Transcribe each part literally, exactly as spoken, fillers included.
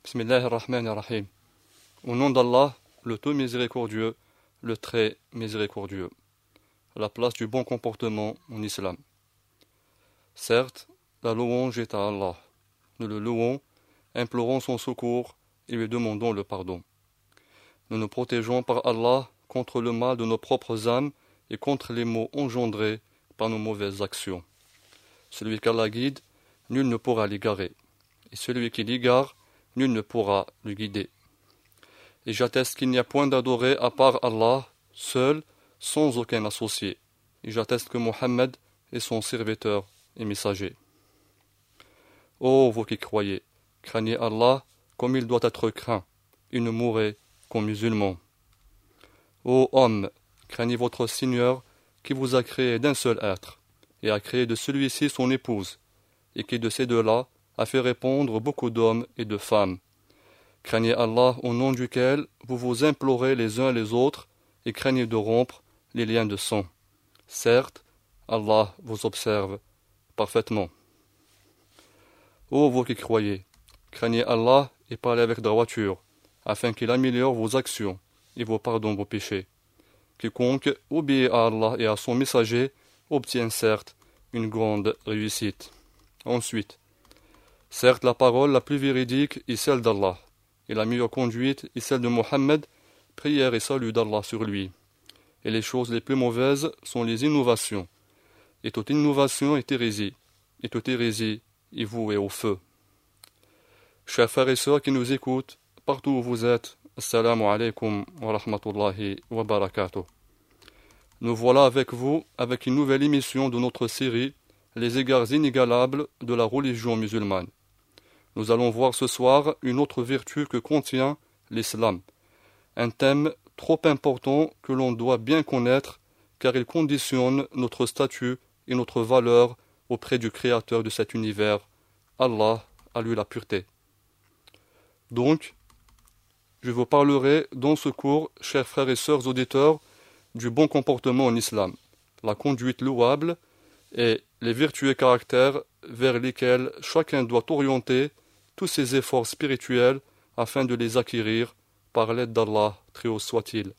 Bismillah ar-Rahman ar-Rahim. Au nom d'Allah, le tout miséricordieux, le très miséricordieux. La place du bon comportement en islam. Certes, la louange est à Allah. Nous le louons, implorons son secours et lui demandons le pardon. Nous nous protégeons par Allah contre le mal de nos propres âmes et contre les maux engendrés par nos mauvaises actions. Celui qu'Allah guide, nul ne pourra l'égarer. Et celui qui l'égare, nul ne pourra le guider. Et j'atteste qu'il n'y a point d'adoré à part Allah, seul, sans aucun associé. Et j'atteste que Mohammed est son serviteur et messager. Ô vous qui croyez, craignez Allah comme il doit être craint, et ne mourrez qu'en musulmans. Ô hommes, craignez votre Seigneur qui vous a créé d'un seul être, et a créé de celui-ci son épouse, et qui de ces deux-là a fait répondre beaucoup d'hommes et de femmes. Craignez Allah au nom duquel vous vous implorez les uns les autres, et craignez de rompre les liens de sang. Certes, Allah vous observe parfaitement. Ô vous qui croyez, craignez Allah et parlez avec droiture, afin qu'il améliore vos actions et vous pardonne vos péchés. Quiconque obéit à Allah et à son messager obtient certes une grande réussite. Ensuite, certes la parole la plus véridique est celle d'Allah, et la meilleure conduite est celle de Mohammed, prière et salut d'Allah sur lui. Et les choses les plus mauvaises sont les innovations, et toute innovation est hérésie, et toute hérésie est vouée au feu. Chers frères et sœurs qui nous écoutent, partout où vous êtes, assalamu alaikum wa rahmatullahi wa barakatuh. Nous voilà avec vous, avec une nouvelle émission de notre série Les égards inégalables de la religion musulmane. Nous allons voir ce soir une autre vertu que contient l'islam, un thème trop important que l'on doit bien connaître car il conditionne notre statut et notre valeur auprès du Créateur de cet univers, Allah, à lui la pureté. Donc, je vous parlerai dans ce cours, chers frères et sœurs auditeurs, du bon comportement en islam, la conduite louable et les vertueux caractères vers lesquels chacun doit orienter tous ses efforts spirituels afin de les acquérir par l'aide d'Allah, très haut soit-il.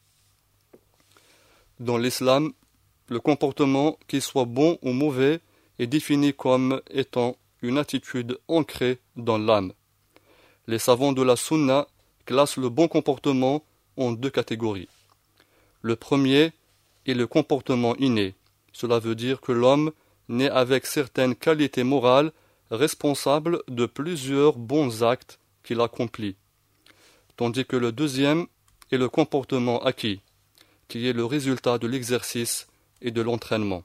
Dans l'islam, le comportement, qu'il soit bon ou mauvais, est défini comme étant une attitude ancrée dans l'âme. Les savants de la Sunna classent le bon comportement en deux catégories. Le premier est le comportement inné. Cela veut dire que l'homme naît avec certaines qualités morales responsables de plusieurs bons actes qu'il accomplit. Tandis que le deuxième est le comportement acquis, qui est le résultat de l'exercice et de l'entraînement.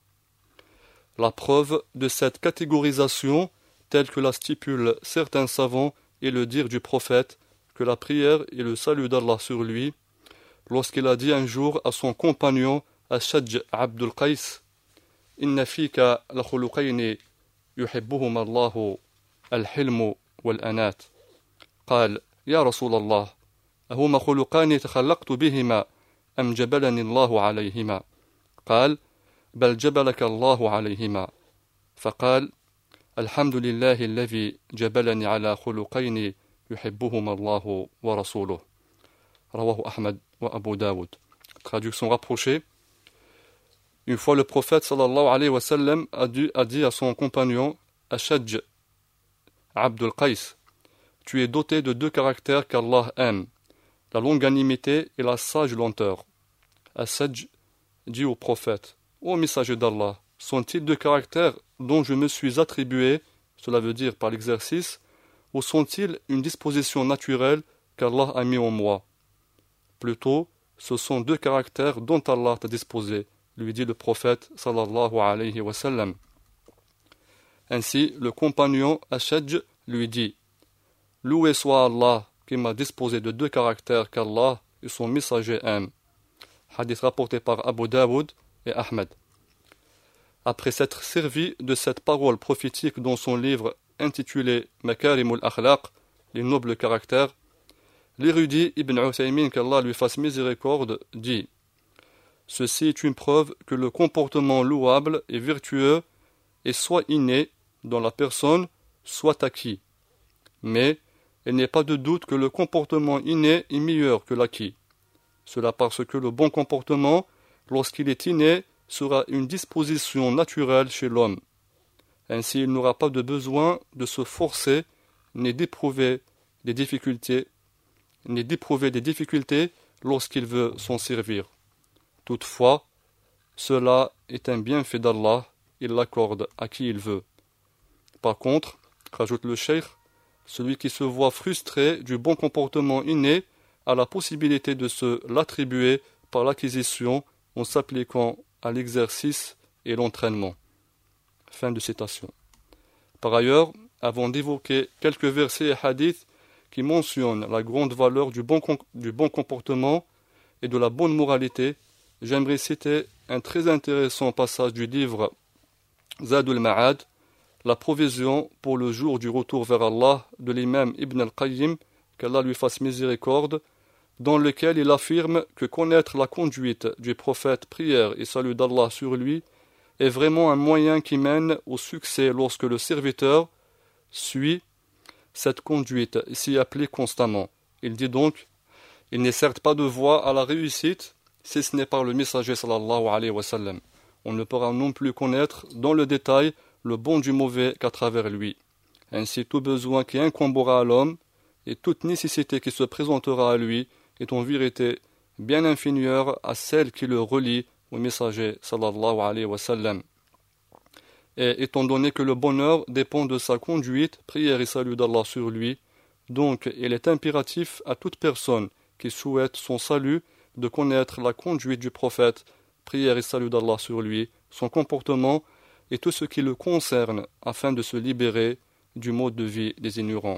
La preuve de cette catégorisation, telle que la stipulent certains savants, est le dire du prophète que la prière et le salut d'Allah sur lui, lorsqu'il a dit un jour à son compagnon Ashaj Abdul Qais, Inna fika la khuluqayni yuhibbuhuma Allahu al-hilmu wal-anat. قال يا رسول الله أهما خلقان تخلقت بهما أم جبلني الله عليهما قال بل جبلك الله عليهما فقال الحمد لله الذي جبلني على خلقين يحبهما الله ورسوله رواه أحمد وأبو داود. Traduction rapprochée. Une fois le prophète sallallahu alayhi wa sallam a, dû, a dit à son compagnon Ashaj Abdul Qais, tu es doté de deux caractères qu'Allah aime, la longanimité et la sage lenteur. Ashaj dit au prophète, ô messager d'Allah, sont-ils deux caractères dont je me suis attribué, cela veut dire par l'exercice, ou sont-ils une disposition naturelle qu'Allah a mis en moi? Plutôt, ce sont deux caractères dont Allah t'a disposé, lui dit le prophète sallallahu alayhi wa sallam. Ainsi, le compagnon Ashaj lui dit, loué soit Allah qui m'a disposé de deux caractères qu'Allah et son messager aiment. Hadith rapporté par Abu Daoud et Ahmed. Après s'être servi de cette parole prophétique dans son livre intitulé Makarimul Akhlaq, les nobles caractères, l'érudit Ibn Uthaymin, qu'Allah lui fasse miséricorde, dit: ceci est une preuve que le comportement louable et vertueux est soit inné dans la personne, soit acquis. Mais il n'est pas de doute que le comportement inné est meilleur que l'acquis. Cela parce que le bon comportement, lorsqu'il est inné, sera une disposition naturelle chez l'homme. Ainsi, il n'aura pas de besoin de se forcer, ni d'éprouver des difficultés, ni d'éprouver des difficultés lorsqu'il veut s'en servir. Toutefois, cela est un bienfait d'Allah, il l'accorde à qui il veut. Par contre, rajoute le cheikh, celui qui se voit frustré du bon comportement inné a la possibilité de se l'attribuer par l'acquisition en s'appliquant à l'exercice et l'entraînement. Fin de citation. Par ailleurs, avant d'évoquer quelques versets et hadiths qui mentionnent la grande valeur du bon, du bon comportement et de la bonne moralité, j'aimerais citer un très intéressant passage du livre Zadul Ma'ad, la provision pour le jour du retour vers Allah de l'imam Ibn al-Qayyim, qu'Allah lui fasse miséricorde, dans lequel il affirme que connaître la conduite du prophète, prière et salut d'Allah sur lui, est vraiment un moyen qui mène au succès lorsque le serviteur suit cette conduite et s'y applique constamment. Il dit donc, il n'est certes pas de voie à la réussite si ce n'est par le messager sallallahu alayhi wa sallam. On ne pourra non plus connaître dans le détail le bon du mauvais qu'à travers lui. Ainsi, tout besoin qui incombera à l'homme et toute nécessité qui se présentera à lui est en vérité bien inférieure à celle qui le relie au messager sallallahu alayhi wa sallam. Et étant donné que le bonheur dépend de sa conduite, prière et salut d'Allah sur lui, donc il est impératif à toute personne qui souhaite son salut de connaître la conduite du prophète, prière et salut d'Allah sur lui, son comportement et tout ce qui le concerne afin de se libérer du mode de vie des ignorants.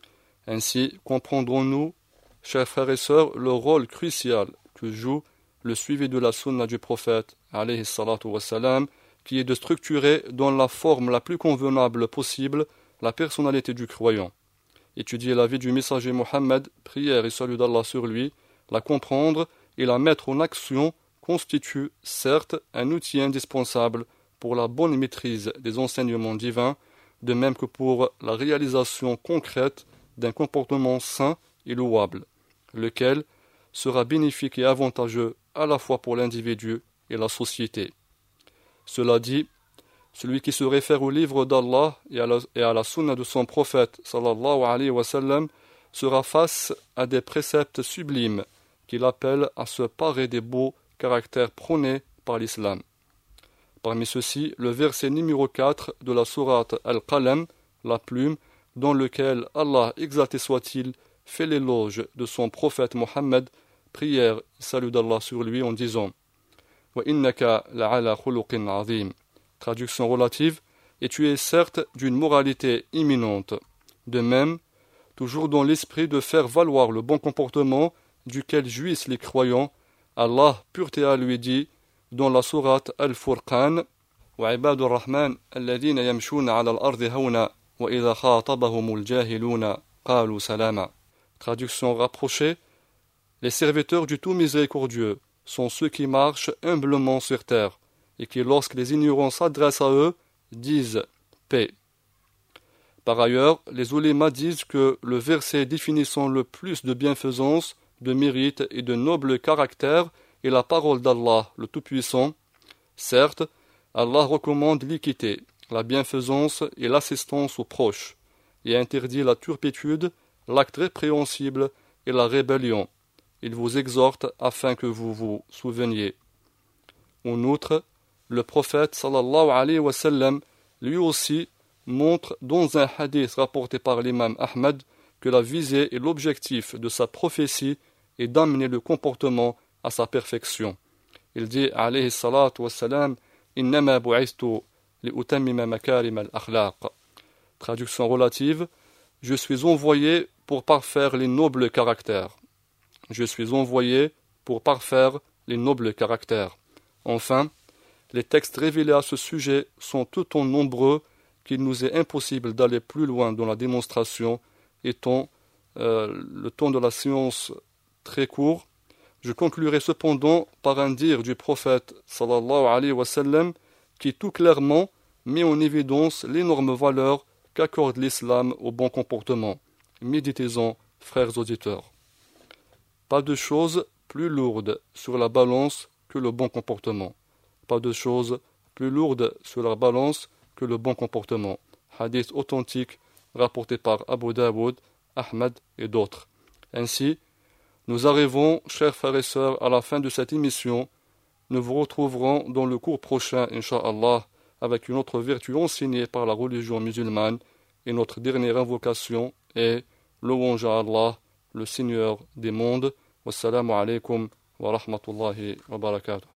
Ainsi, comprendrons-nous, chers frères et sœurs, le rôle crucial que joue le suivi de la sunna du prophète, alayhi salatu wassalam, qui est de structurer dans la forme la plus convenable possible la personnalité du croyant. Étudier la vie du messager Mohammed, prière et salut d'Allah sur lui, la comprendre et la mettre en action constitue certes un outil indispensable pour la bonne maîtrise des enseignements divins, de même que pour la réalisation concrète d'un comportement sain et louable, lequel sera bénéfique et avantageux à la fois pour l'individu et la société. Cela dit, celui qui se réfère au livre d'Allah et à la, et à la sunna de son prophète sallallahu alayhi wa sallam sera face à des préceptes sublimes qui l'appellent à se parer des beaux caractères prônés par l'islam. Parmi ceux-ci, le verset numéro quatre de la sourate Al-Qalam, la plume, dans lequel Allah, exalté soit-il, fait l'éloge de son prophète Mohammed, prière et salut d'Allah sur lui en disant « Wa innaka la'ala khuluqin azim » Traduction relative, « Et tu es certes d'une moralité imminente. » De même, toujours dans l'esprit de faire valoir le bon comportement duquel jouissent les croyants, Allah, pureté à lui, dit dans la sourate Al-Furqan wa ibadur rahman alladhina yamshuna 'ala al-ardi hawna wa idha khatabahumul jahiluna qalu salama. Traduction rapprochée, les serviteurs du tout miséricordieux sont ceux qui marchent humblement sur terre et qui, lorsque les ignorants s'adressent à eux, disent paix. Par ailleurs, les oulémas disent que le verset définissant le plus de bienfaisance, de mérite et de noble caractère est la parole d'Allah, le Tout-Puissant. Certes, Allah recommande l'équité, la bienfaisance et l'assistance aux proches, et interdit la turpitude, l'acte répréhensible et la rébellion. Il vous exhorte afin que vous vous souveniez. En outre, le prophète sallallahu alayhi wa sallam lui aussi montre dans un hadith rapporté par l'imam Ahmad que la visée et l'objectif de sa prophétie est d'amener le comportement à sa perfection. Il dit alayhi salatu wa salam innama bu'ithtu li utammima makarim al-akhlaq. Traduction relative, je suis envoyé pour parfaire les nobles caractères. Je suis envoyé pour parfaire les nobles caractères. Enfin, les textes révélés à ce sujet sont autant nombreux qu'il nous est impossible d'aller plus loin dans la démonstration, étant euh, le temps de la science très court. Je conclurai cependant par un dire du prophète sallallahu alayhi wa sallam qui tout clairement met en évidence l'énorme valeur qu'accorde l'islam au bon comportement. Méditez-en, frères auditeurs. Pas de choses plus lourdes sur la balance que le bon comportement. Pas de choses plus lourdes sur la balance que le bon comportement. Hadith authentique rapporté par Abu Daoud, Ahmad et d'autres. Ainsi, nous arrivons, chers frères et sœurs, à la fin de cette émission. Nous vous retrouverons dans le cours prochain, Inch'Allah, avec une autre vertu enseignée par la religion musulmane, et notre dernière invocation est louange à Allah, le Seigneur des mondes. Wassalamu alaikum wa rahmatullahi wa barakatuh.